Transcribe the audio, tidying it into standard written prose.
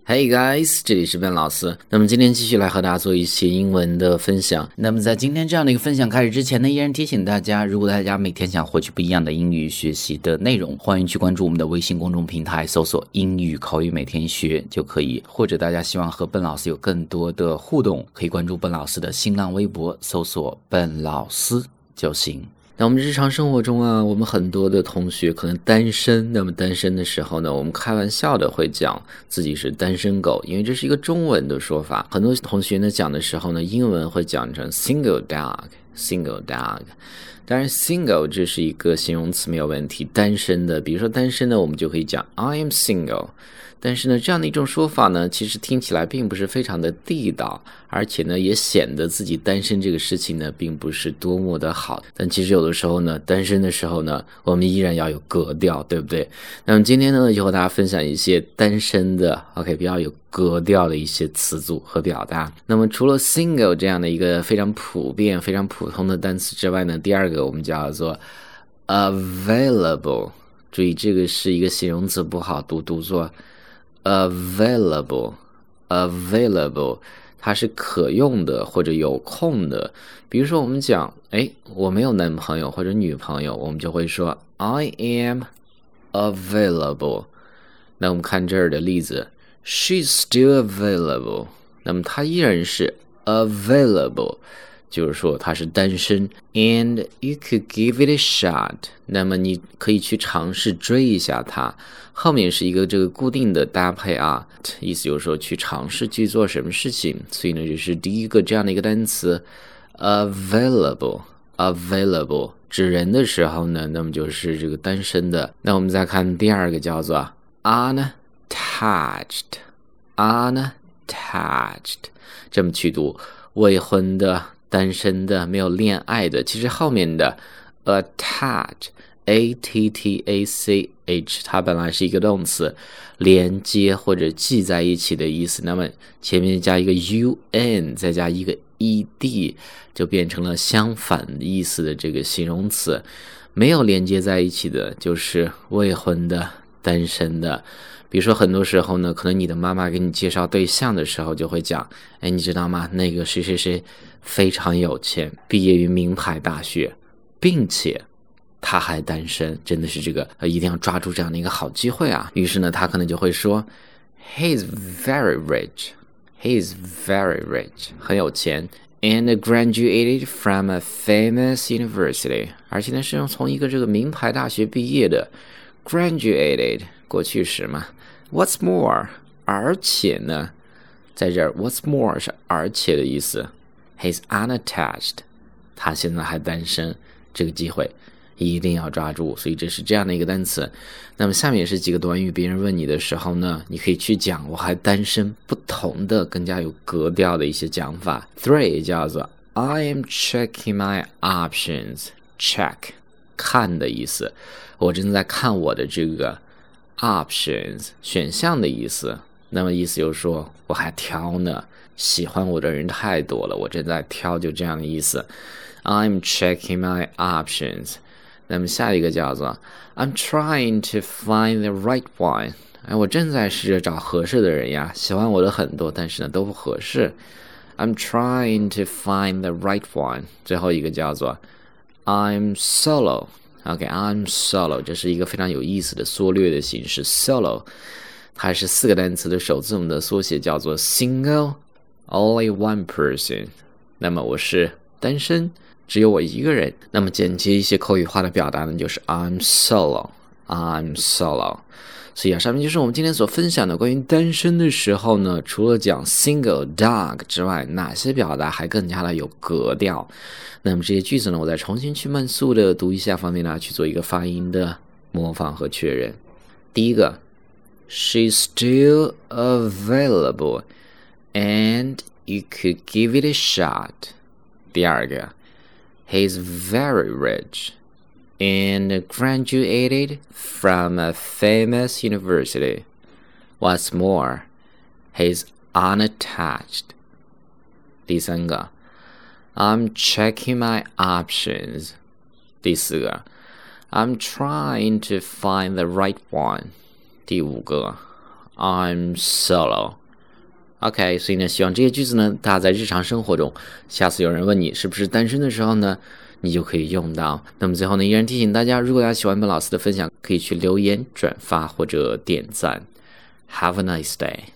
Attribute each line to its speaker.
Speaker 1: Hey guys， 这里是Ben老师。那么今天继续来和大家做一些英文的分享。那么在今天这样的一个分享开始之前呢，依然提醒大家，如果大家每天想获取不一样的英语学习的内容，欢迎去关注我们的微信公众平台，搜索英语口语每天学就可以。或者大家希望和笨老师有更多的互动，可以关注笨老师的新浪微博，搜索笨老师就行。那我们日常生活中啊，我们很多的同学可能单身，那么单身的时候呢，我们开玩笑的会讲自己是单身狗，因为这是一个中文的说法。很多同学呢讲的时候呢，英文会讲成 single dog。当然 single 这是一个形容词没有问题，单身的，比如说单身的我们就可以讲 I am single。但是呢，这样的一种说法呢，其实听起来并不是非常的地道，而且呢，也显得自己单身这个事情呢，并不是多么的好。但其实有的时候呢，单身的时候呢，我们依然要有格调，对不对？那么今天呢，就和大家分享一些单身的 比较有格调的一些词组和表达。那么除了 single 这样的一个非常普遍、非常普通的单词之外呢，第二个我们叫做 available。注意，这个是一个形容词，不好读，读作available， 它是可用的或者有空的。比如说我们讲我没有男朋友或者女朋友，我们就会说 I am available。 那我们看这儿的例子， She's still available， 那么她依然是 available，就是说他是单身。 And you could give it a shot， 那么你可以去尝试追一下他，后面是一个这个固定的搭配啊，意思就是说去尝试去做什么事情。所以呢，这是第一个这样的一个单词 available 指人的时候呢，那么就是这个单身的。那我们再看第二个叫做 unattached， 这么去读，未婚的、单身的、没有恋爱的。其实后面的 attach A-T-T-A-C-H 它本来是一个动词，连接或者系在一起的意思，那么前面加一个 un 再加一个 ed 就变成了相反意思的这个形容词。没有连接在一起的就是未婚的、单身的。比如说很多时候呢，可能你的妈妈给你介绍对象的时候就会讲，你知道吗，那个谁谁谁非常有钱，毕业于名牌大学，并且他还单身，真的是这个一定要抓住这样的一个好机会啊。于是呢，他可能就会说 He is very rich， 很有钱， and graduated from a famous university， 而且呢是从一个这个名牌大学毕业的。 graduated 过去时嘛。 What's more， 而且呢，在这儿 what's more 是而且的意思。 He's unattached， 他现在还单身，这个机会一定要抓住。所以这是这样的一个单词。那么下面也是几个短语，别人问你的时候呢，你可以去讲我还单身，不同的更加有格调的一些讲法。 3 叫做 I am checking my options。 check 看的意思，我正在看我的这个 options 选项的意思。那么意思就是说我还挑呢，喜欢我的人太多了，我正在挑，就这样的意思。 I'm checking my options。 那么下一个叫做 I'm trying to find the right one。 我正在试着找合适的人呀，喜欢我的很多，但是呢都不合适。 I'm trying to find the right one。 最后一个叫做 I'm solo。I'm solo， 这是一个非常有意思的缩略的形式。 solo 它是4个单词的首字母的缩写，叫做 single only one person。 那么我是单身，只有我一个人。那么简洁一些口语化的表达呢，就是 I'm solo。 所以上面就是我们今天所分享的关于单身的时候呢，除了讲 single dog 之外，哪些表达还更加的有格调。那么这些句子呢，我再重新去慢速的读一下，方便大家去做一个发音的模仿和确认。第一个 She's still available and you could give it a shot。 第二个 He's very rich and graduated from a famous university. What's more, he's unattached. 第三个 I'm checking my options. 第四个 I'm trying to find the right one. 第五个 I'm solo。OK， 所以呢，希望这些句子呢，大家在日常生活中，下次有人问你是不是单身的时候呢，你就可以用到。那么最后呢，依然提醒大家，如果大家喜欢本老师的分享，可以去留言、转发或者点赞。Have a nice day.